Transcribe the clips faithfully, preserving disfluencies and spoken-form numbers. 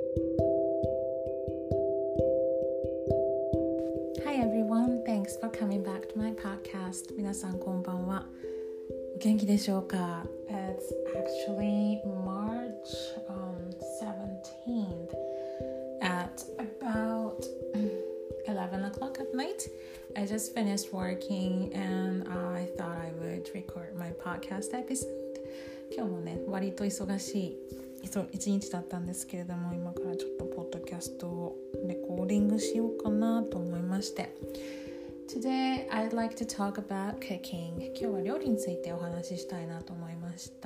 Hi everyone, thanks for coming back to my podcast. 皆さんこんばんは。お元気でしょうか？ It's actually March um, seventeenth at about eleven o'clock at night. I just finished working and I thought I would record my podcast episode. 今日もね、割と忙しい一日だったんですけれども、今からちょっとポッドキャストをレコーディングしようかなと思いまして。Today I'd like to talk about cooking. 今日は料理についてお話ししたいなと思いました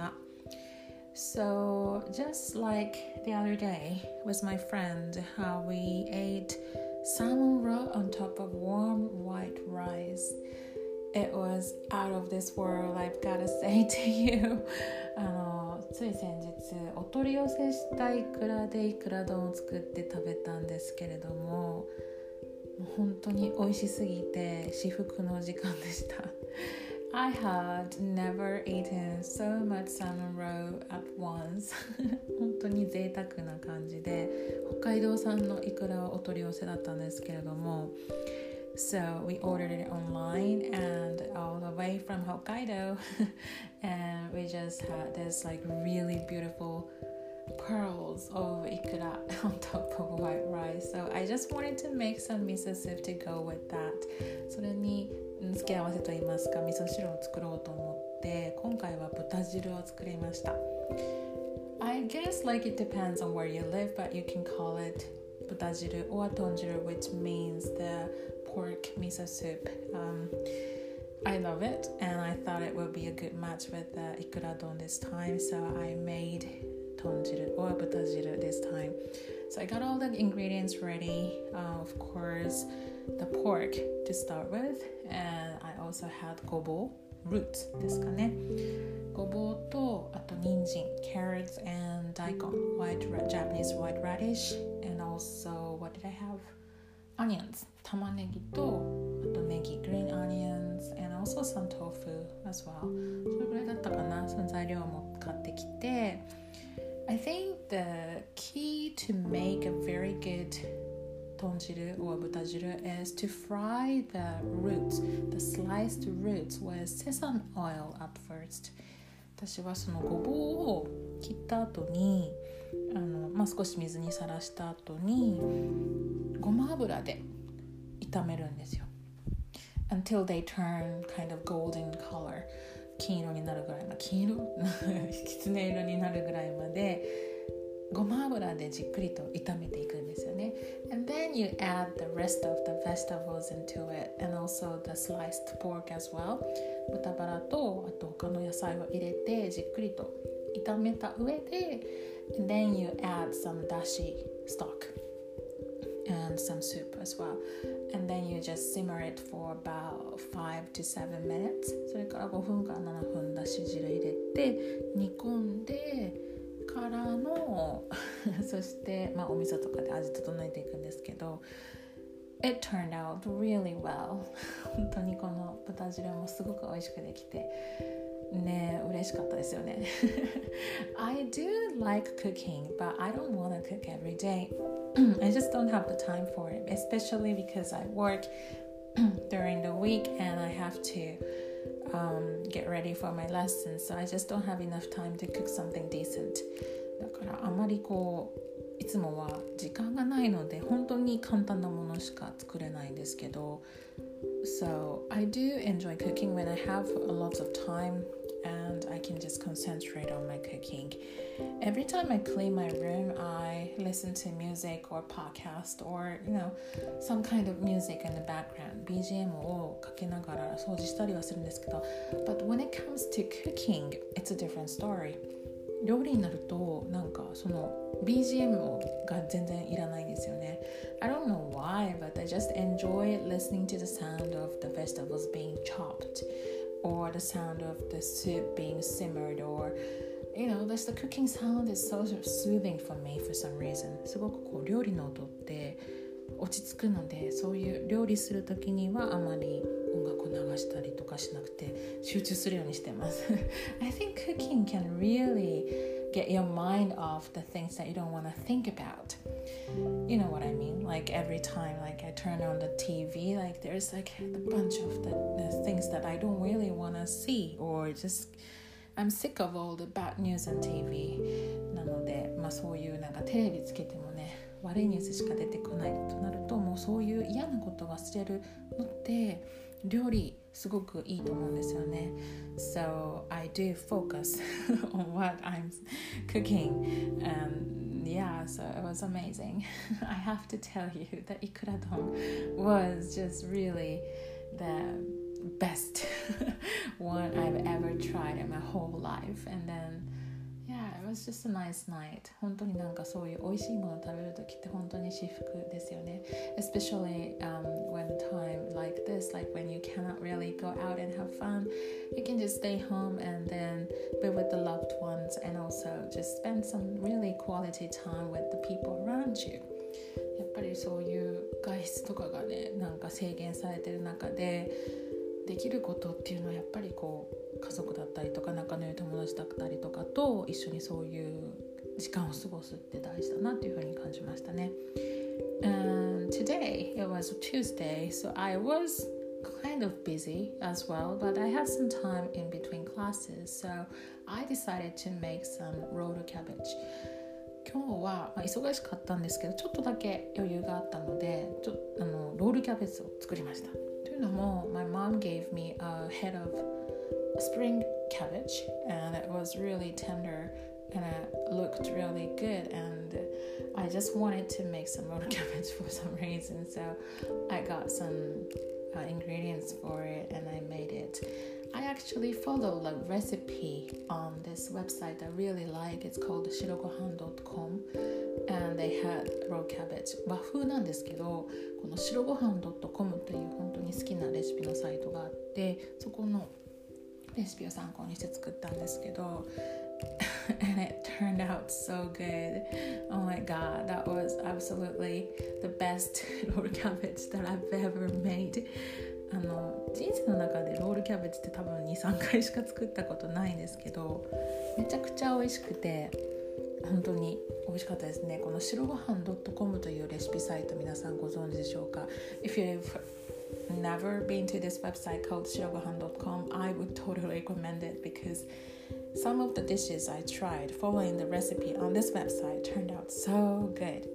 。So just like the other day with my friend, how we ate salmon raw on top of warm white rice. It was out of this world, I've gotta say to you. あのつい先日お取り寄せしたイクラでイクラ丼を作って食べたんですけれども、もう本当に美味しすぎて至福の時間でした。I had never eaten so much salmon roe at once. 本当に贅沢な感じで、北海道産のイクラをお取り寄せだったんですけれども、So we ordered it online and all the way from Hokkaido and we just had this like really beautiful pearls of ikura on top of white rice. So I just wanted to make some miso soup to go with that. それに付け合わせといいますか、味噌汁を作ろうと思って今回は豚汁を作りました。I guess like it depends on where you live, but you can call it 豚汁 or 豚汁 which means the pork miso soup. Um, I love it and I thought it would be a good match with the ikura don this time, so I made 豚汁 or 豚汁 this time. So I got all the ingredients ready. Uh, of course, the pork to start with, and I also had ごぼう roots ですかね。ごぼうとあと人参 carrots and daikon, white Japanese white radish, and also what did I have? Onions, 玉ねぎとあとネギ green onions, and also some tofu as well. それぐらいだったかな。その材料も買ってきて、I think the key to make a very good 豚汁 or 豚汁 is to fry the roots, the sliced roots with sesame oil at first. 私はそのごぼうを切った後にあの、まあ、少し水にさらした後にごま油で炒めるんですよ。Until they turn kind of golden color. 金色になるぐらいまで、金色きつね色になるぐらいまでごま油でじっくりと炒めていくんですよね。And then you add the rest of the vegetables into it and also the sliced pork as well. 豚バラとあと他の野菜を入れてじっくりと炒めた上で and then you add some dashi stock and some soup as well. And then you just simmer it for about five to seven minutes. それからごふんからななふんだし汁入れて煮込んでからのそして、まあ、お味噌とかで味整えていくんですけど It turned out really well. 本当にこの豚汁もすごく美味しくできてね、嬉しかったですよね。I do like cooking, but I don't want to cook every day. I just don't have the time for it, especially because I work during the week and I have to um, get ready for my lessons, so I just don't have enough time to cook something decent. だからあまりこういつもは時間がないので本当に簡単なものしか作れないんですけど So I do enjoy cooking when I have a lot of time and I can just concentrate on my cooking. Every time I clean my room, I listen to music or podcast or, you know, some kind of music in the background. ビージーエム をかけながら掃除したりはするんですけど But when it comes to cooking, it's a different story. 料理になるとなんかその ビージーエム が全然いらないんですよね。I don't know why, but I just enjoy listening to the sound of the vegetables being chopped or the sound of the soup being simmered or, you know, just the cooking sound is so soothing for me for some reason. すごくこう料理の音って落ち着くので、そういう料理するときにはあまり音楽を流したりとかしなくて集中するようにしてます。I think cooking can really get your mind off the things that you don't want to think about. You know what I mean? Like every time like I turn on the T V, like there's like a bunch of the, the things that I don't really want to see, or just I'm sick of all the bad news on ティーブイ なので、まあそういうなんかテレビつけてもね、悪いニュースしか出てこないとなると、もうそういう嫌なこと忘れるのって料理すごくいいと思うんですよね。So I do focus on what I'm cooking, and yeah, so it was amazing. I have to tell you that ikuradon was just really the best one I've ever tried in my whole life. And then yeah, it was just a nice night. 本当になんかそういう美味しいものを食べるときって本当に至福ですよね。Especially um, when time like this, like when you cannot really go out and have fun, you can just stay home and then be with the loved ones, and also just spend some really quality time with the people around you. やっぱりそういう外出とかがね、なんか制限されてる中でできることっていうのはやっぱりこう家族だったりとか仲の良い友達だったりとかと一緒にそういう時間を過ごすって大事だなっていうふうに感じましたね。And today it was Tuesday, so I was kind of busy as well, but I had some time in between classes, so I decided to make some rolled cabbage. 今日は、まあ、忙しかったんですけどちょっとだけ余裕があったのでちょあのロールキャベツを作りました。というのも My mom gave me a head of spring cabbage, and it was really tender and it looked really good, and I just wanted to make some rolled cabbage for some reason, so I got some uh, ingredients for it and I made it. I actually followed a recipe on this website I really like. It's called shirogohan dot com, and they had rolled cabbage. 和風なんですけど、このshirogohan dot com という本当に好きなレシピのサイトがあって、そこのレシピを参考にして作ったんですけどand it turned out so good. Oh my god, that was absolutely the best rolled cabbage that I've ever made. あの人生の中でロールキャベツって多分 にさんかいしか作ったことないんですけど、めちゃくちゃ美味しくて本当に美味しかったですね。この白ごはん .com というレシピサイト皆さんご存知でしょうか？ If you've never been to this website called shirogohan dot com, I would totally recommend it because some of the dishes I tried following the recipe on this website turned out so good.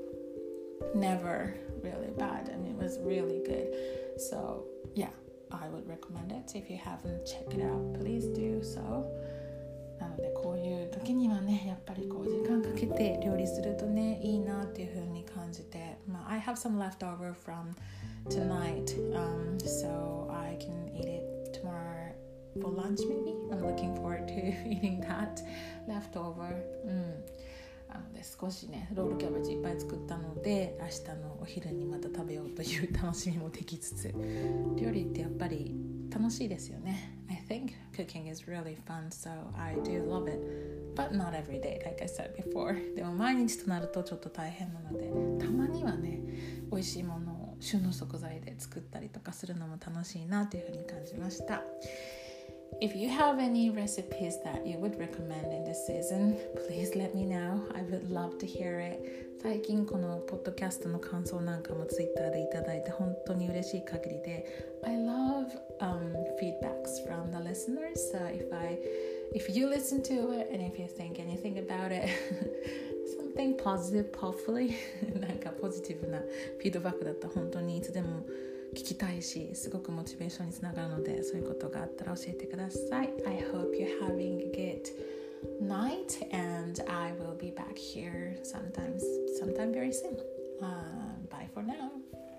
Never really bad. I mean, it was really good. So yeah, I would recommend it. If you haven't checked it out, please do so. なのでこういう時にはね、やっぱりこう時間かけて料理するとね、いいなっていう風に感じて、まあ、I have some leftover from tonight, um, so I can eat it tomorrow for lunch maybe. I'm looking forward to eating that leftover. うん。なので少しねロールキャベツいっぱい作ったので明日のお昼にまた食べようという楽しみもできつつ、料理ってやっぱり楽しいですよね。I think cooking is really fun, so I do love it, but not every day, like I said before. でも毎日となるとちょっと大変なので、たまにはね美味しいものを旬の食材で作ったりとかするのも楽しいなというふうに感じました。If you have any recipes that you would recommend in this season, please let me know. I would love to hear it. 最近このポッドキャストの感想なんかもツイッターでいただいて本当に嬉しい限りで I love、um, feedbacks from the listeners. So if I, if you listen to it and if you think anything about it, something positive, hopefully なんかポジティブなフィードバックだったら本当にいつでも聞きたいし、すごくモチベーションにつながるので、そういうことがあったら教えてください。I hope you're having a good night, and I will be back here sometimes, sometime very soon. Uh, bye for now.